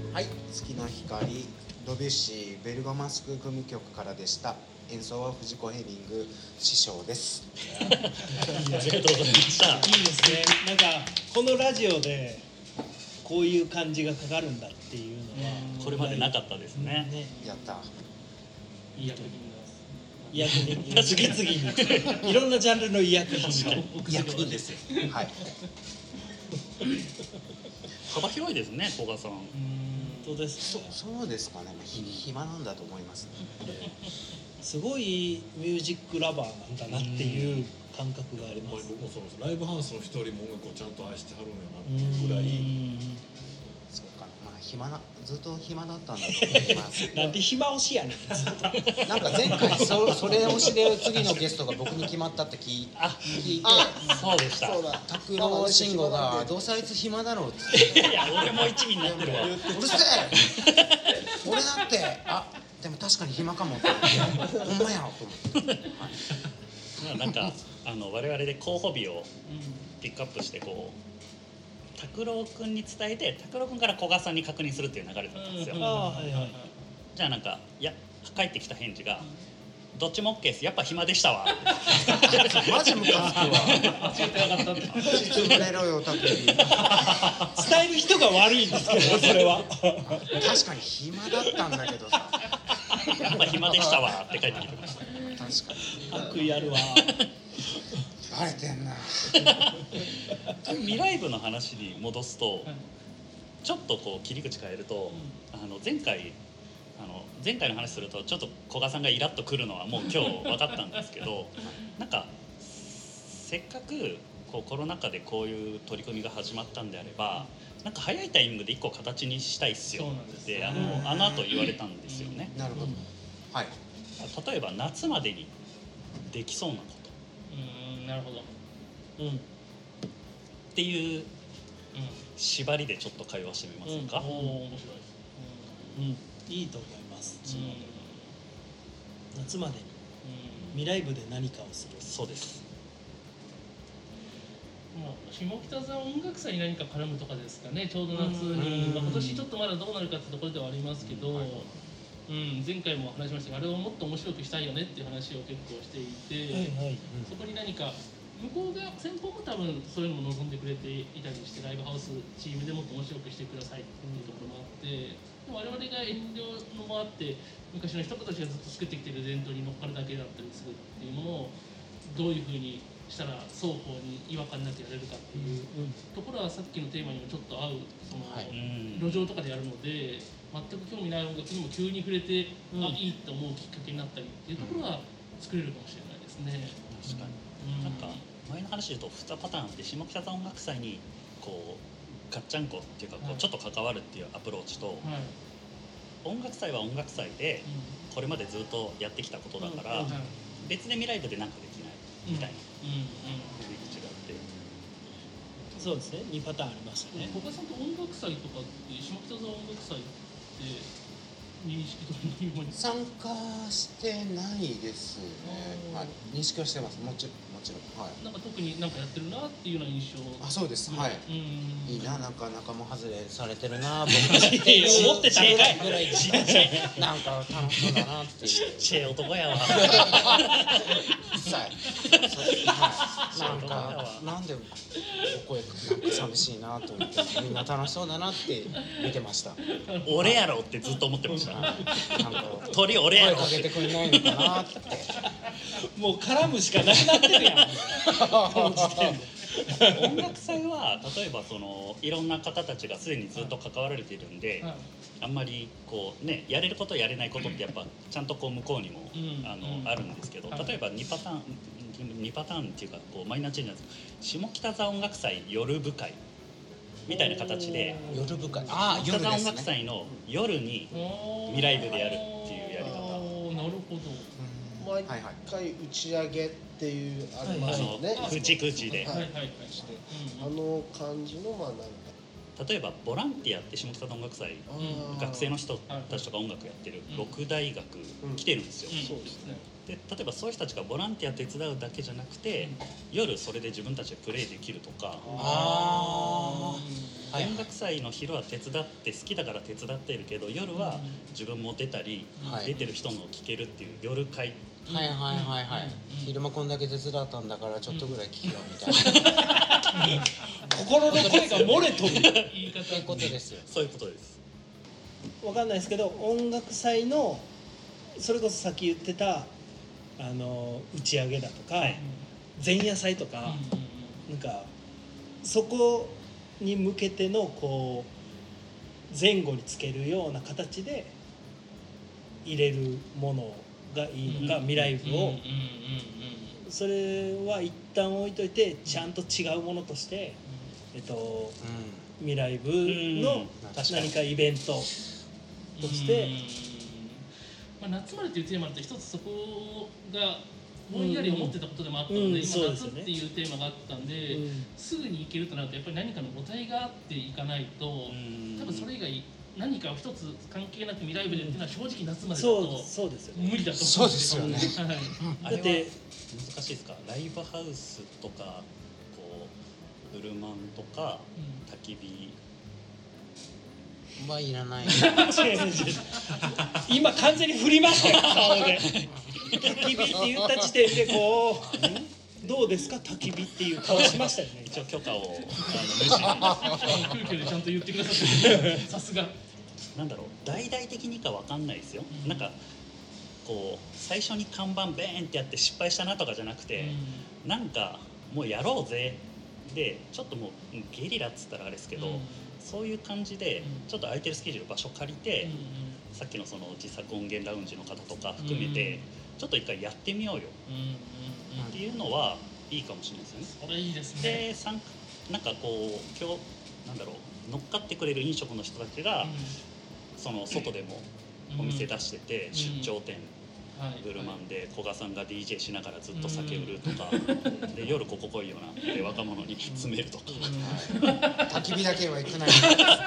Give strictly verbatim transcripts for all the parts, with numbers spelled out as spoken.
はい、月の光ドビュッシーベルガマスク組曲からでした。演奏は藤子ヘリング師匠です。 ありがとうございました。 いいですね。なんかこのラジオでこういう感じがかかるんだっていうのはこれまでなかったですね。 ね、 やった。 いい役人医薬品次々にいろんなジャンルの医薬品が医薬品ですよ。はい。 幅広いですね、古賀さん。 本当です。 そそうですかね。ひ暇なんだと思います、ね。 すごいミュージックラバーなんだなっていう感覚があります。 僕もそうです。ライブハウスの一人も音楽をちゃんと愛してはるんやなっていうぐらい。 そうかな。まあ暇なずっと暇だったんだと思います。 なんで暇推しやねん。 なんか前回そそれ推しで次のゲストが僕に決まったって聞い聞いて、 そうでした。 そうだ。 拓郎慎吾がどうせあいつ暇だろうって。 いや俺も一味になってるわ。 うるせえ。俺だってあでも確かに暇かもって思ってほんまやと思って。 まあなんかあの我々で候補日をピックアップしてこう拓郎くんに伝えて拓郎くんから古賀さんに確認するっていう流れだったんですよ。 ああはいはい。 じゃあなんかいや帰ってきた返事がどっちも OK です。やっぱ暇でしたわ。 マジムカつくわ。 教えてなかったって。 つぶれろよタクリ。 伝える人が悪いんですけどそれは。 確かに暇だったんだけどさ。 やっぱ暇でしたわって帰ってきてました。 確かに。 悪意あるわ。 バレてんな。 未来部の話に戻すと、ちょっとこう切り口変えると、あの前回あの前回の話するとちょっと古賀さんがイラッとくるのはもう今日分かったんですけどなんかせっかくこうコロナ禍でこういう取り組みが始まったんであればなんか早いタイミングで一個形にしたいっすよってあのあの後言われたんですよね。 なるほど。はい。 例えば夏までにできそうなこと。 うん、なるほど。 うん。 っていう縛りでちょっと会話してみませんか。 おお、面白い。 うん。いいと思います。そのうん夏までにうん未来部で何かをする。 そうです。 まあ、下北沢音楽祭に何か絡むとかですかね、ちょうど夏に、まあ、今年ちょっとまだどうなるかってところではありますけど、うん、前回も話しましたが、あれをもっと面白くしたいよねっていう話を結構していて、 はいはい。 そこに何か、向こうが、先方も多分そういうのも望んでくれていたりして、ライブハウスチームでもっと面白くしてくださいっていうところもあって、我々が遠慮のもあって、昔の人たちがずっと作ってきている伝統に乗っかるだけだったりするっていうものを、どういうふうにしたら双方に違和感なくやれるかっていうところはさっきのテーマにもちょっと合うその、 はい路上とかでやるので全く興味ない音楽にも急に触れて、うん、あいいって思うきっかけになったりっていうところは作れるかもしれないですね。 確かに、うん、なんか前の話で言うとにパターンで下北沢音楽祭にこうガッチャンコっていうかこうちょっと関わるっていうアプローチと、はい、音楽祭は音楽祭でこれまでずっとやってきたことだから、うんうん、別で未来部でなんかできないみたいな振り口があって、 そうですね。にパターンありましたね。 古賀さんと音楽祭とかって下北沢音楽祭って認識というもの参加してないですね。はい、認識はしてます。もちろんもちろん。はい。 なんか特になんかやってるなっていうような印象。 あ、そうです。はい。 うん、 いいな、なんか仲間外れされてるな、僕って思ってたぐらいぐらいちっちゃいなんか楽しそうだなっていう。 ちっちゃい男やわ。 一切。なんかなんでここへなんか寂しいなと思ってみんな楽しそうだなって見てました。 俺やろってずっと思ってました。 なんか鳥俺やろ声かけてくれないのかなって。 もう絡むしかなくなってるやん。この時点で。 音楽祭は例えばそのいろんな方たちがすでにずっと関わられているんで、はい、あんまりこうねやれることやれないことってやっぱちゃんとこう向こうにも、うん、あの、うん、あるんですけど、例えばにパターンにパターンっていうかこうマイナーチェンジなんですけど、下北沢音楽祭夜部会みたいな形で夜部会、あ下北沢音楽祭の夜に未来部でやるっていうやり方。 なるほど。 毎回打ち上げっていうありますよね。 口口で。 はいはいはい。あの感じのまあなんか。 例えばボランティアって下北沢音楽祭、学生の人たちとか音楽やってる六大学来てるんですよ。 そうですね。 で例えばそういう人たちがボランティア手伝うだけじゃなくて、夜それで自分たちでプレイできるとか。 ああ。 はい音楽祭の昼は手伝って好きだから手伝ってるけど夜は自分も出たり、 はい出てる人のを聴けるっていう夜会、 はいはいはいはい、 うん昼間こんだけ手伝ったんだからちょっとぐらい聞けよみたいな、 心の声が漏れとる言い方ってことですよ。 そういうことです。 わかんないですけど、音楽祭のそれこそさっき言ってたあの打ち上げだとか、 はい前夜祭とか、なんかそこに向けてのこう前後につけるような形で入れるものがいいのか、未来部を、それは一旦置いといてちゃんと違うものとして、えっと、未来部の何かイベントとして、 まあ、夏までというテーマだと一つそこがぼんやり思ってたことでもあったので、 うんうん今そうですよね夏っていうテーマがあったんで、 うんすぐに行けるとなるとやっぱり何かの母体があっていかないと、多分それ以外何か一つ関係なく未来部でっていうのは正直夏までだそうとそうですよね。 無理だとそう思うんですよね。 はいあれはだって難しいですか？ライブハウスとかこうブルマンとか焚き火はいらない。 違う違う違う今完全に振りましたよ顔で。焚き火って言った時点でこうどうですか焚き火っていう顔しましたよね。 一応許可をあの無事に空気でちゃんと言ってくださってさすがなんだろう大々的にかわかんないですよ、 うんなんかこう最初に看板ベーンってやって失敗したなとかじゃなくて、なんかもうやろうぜでちょっともうゲリラっつったらあれですけど、 うんそういう感じでうんちょっと空いてるスケジュール場所借りて、さっきのその自作音源ラウンジの方とか含めて、 うんちょっと一回やってみようよっていうのはいいかもしれないですよね。 それいいですね。 で参加なんかこう今日なんだろう乗っかってくれる飲食の人たちが、その外でもお店出してて、 うん出張店、 はいブルマンで古賀さんが ディージェー しながらずっと酒売るとか、で夜ここ来いよなって若者に詰めるとか、 焚き火だけは行くなよ。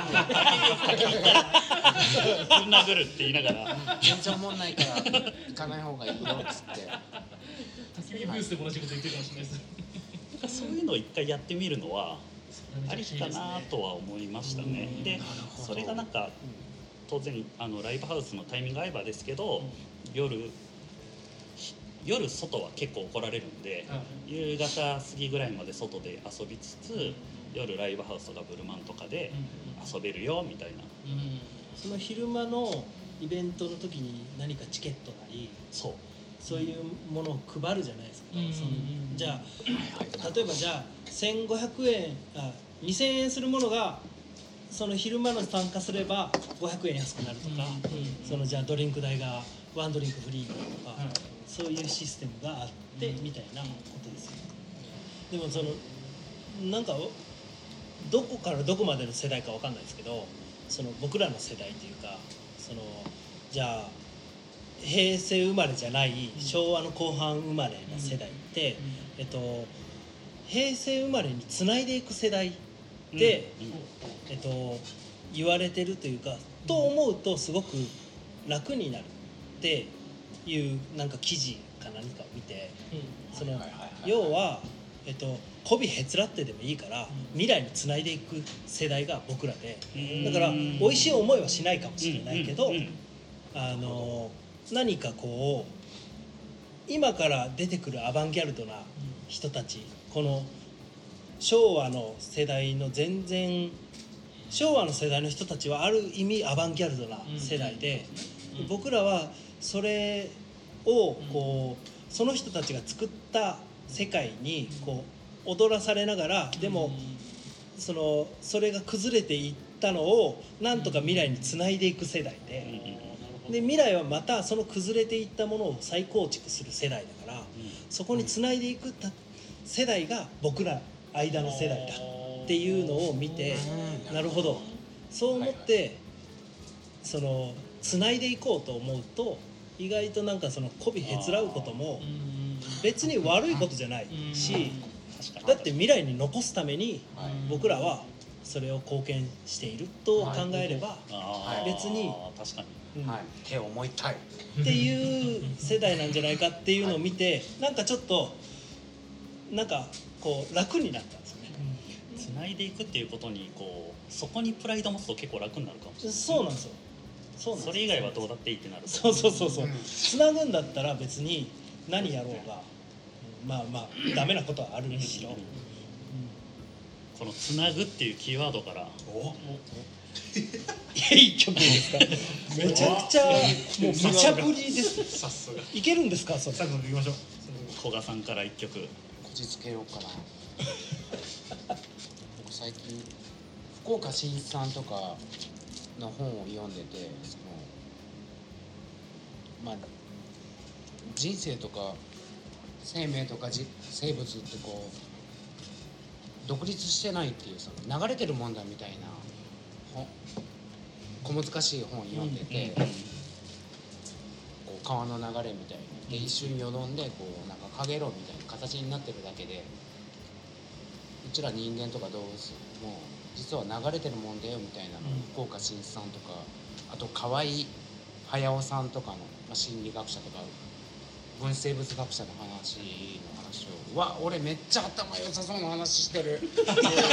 ぶん殴るって言いながら全然思んないから行かない方がいいよっつって。 焚き火ブースで同じこと言ってるかもしれないです。 そういうのを一回やってみるのはありかなとは思いましたね。でそれがなんか当然あのライブハウスのタイミング合えばですけど、夜夜外は結構怒られるんで、夕方過ぎぐらいまで外で遊びつつ、夜ライブハウスとかブルマンとかで遊べるよみたいな。 その昼間のイベントの時に何かチケットなりそうそういうものを配るじゃないですか、 うんそのじゃあ例えばじゃあせんごひゃくえんあにせんえんするものがその昼間の参加すればごひゃくえん安くなるとか、そのじゃあドリンク代がワンドリンクフリーとか、 はいそういうシステムがあってみたいなことですよ。でもそのなんかどこからどこまでの世代かわかんないですけど、その僕らの世代というかそのじゃあ平成生まれじゃない昭和の後半生まれの世代って、えっと、平成生まれにつないでいく世代って、えっと、言われてるというかと思うとすごく楽になるっていうなんか記事か何かを見て、その要は、えっと、媚びへつらってでもいいから未来につないでいく世代が僕らで、だから美味しい思いはしないかもしれないけど、あの何かこう今から出てくるアバンギャルドな人たち、この昭和の世代の全然昭和の世代の人たちはある意味アバンギャルドな世代で、僕らはそれをこうその人たちが作った世界にこう踊らされながら、でもそのそれが崩れていったのをなんとか未来につないでいく世代で、で未来はまたその崩れていったものを再構築する世代だから、そこにつないでいく世代が僕ら間の世代だっていうのを見て、なるほどそう思ってそのつないでいこうと思うと、意外となんかその媚びへつらうことも別に悪いことじゃないし、だって未来に残すために僕らはそれを貢献していると考えれば別に確かに、 うんはい、手を思いたいっていう世代なんじゃないかっていうのを見て、なんかちょっとなんかこう楽になったんですよね。 つな繋いでいくっていうことにこうそこにプライド持つと結構楽になるかもしれない。 そうなんですよ。そうなんです。 それ以外はどうだっていいってなると。 そうそうそうそう、 うんつなぐんだったら別に何やろうが、うんまあまあダメなことはあるにしろ、うんこのつなぐっていうキーワードからおいい曲ですか。めちゃくちゃもう無茶ぶりです。 さすがいけるんですかそれ。 最後に行きましょう。 古賀さんから一曲。 こじつけようかな僕最近福岡伸一さんとかの本を読んでて、そのまあ人生とか生命とかじ生物ってこう独立してないっていう、その流れてるもんだみたいな本小難しい本を読んでて、こう川の流れみたいにで一瞬よどんでこうなんかかげろうみたいな形になってるだけで、うちら人間とか動物も実は流れてるもんだよみたいなのを福岡伸一さんとか、あと河合隼さんとかの、まあ、心理学者とか分子生物学者の話の話を、わ俺めっちゃ頭良さそうな話してる全然全然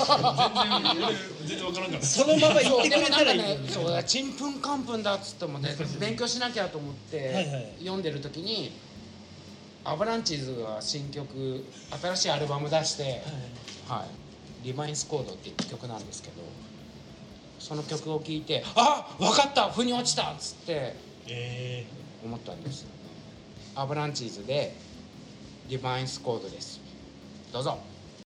分からんかった。 そのまま言ってくれたらいいのに。 そうだ、ちんぷんかんぷんだっつってもね、勉強しなきゃと思っはいはいて読んでる時にアバランチーズが新曲新しいアルバム出して「はい、リマインスコード」っていう曲なんですけど、その曲を聴いて「あ分かった腑に落ちた!」っつってえ思ったんですよね。アバランチーズで「リマインスコード」です。どうぞ。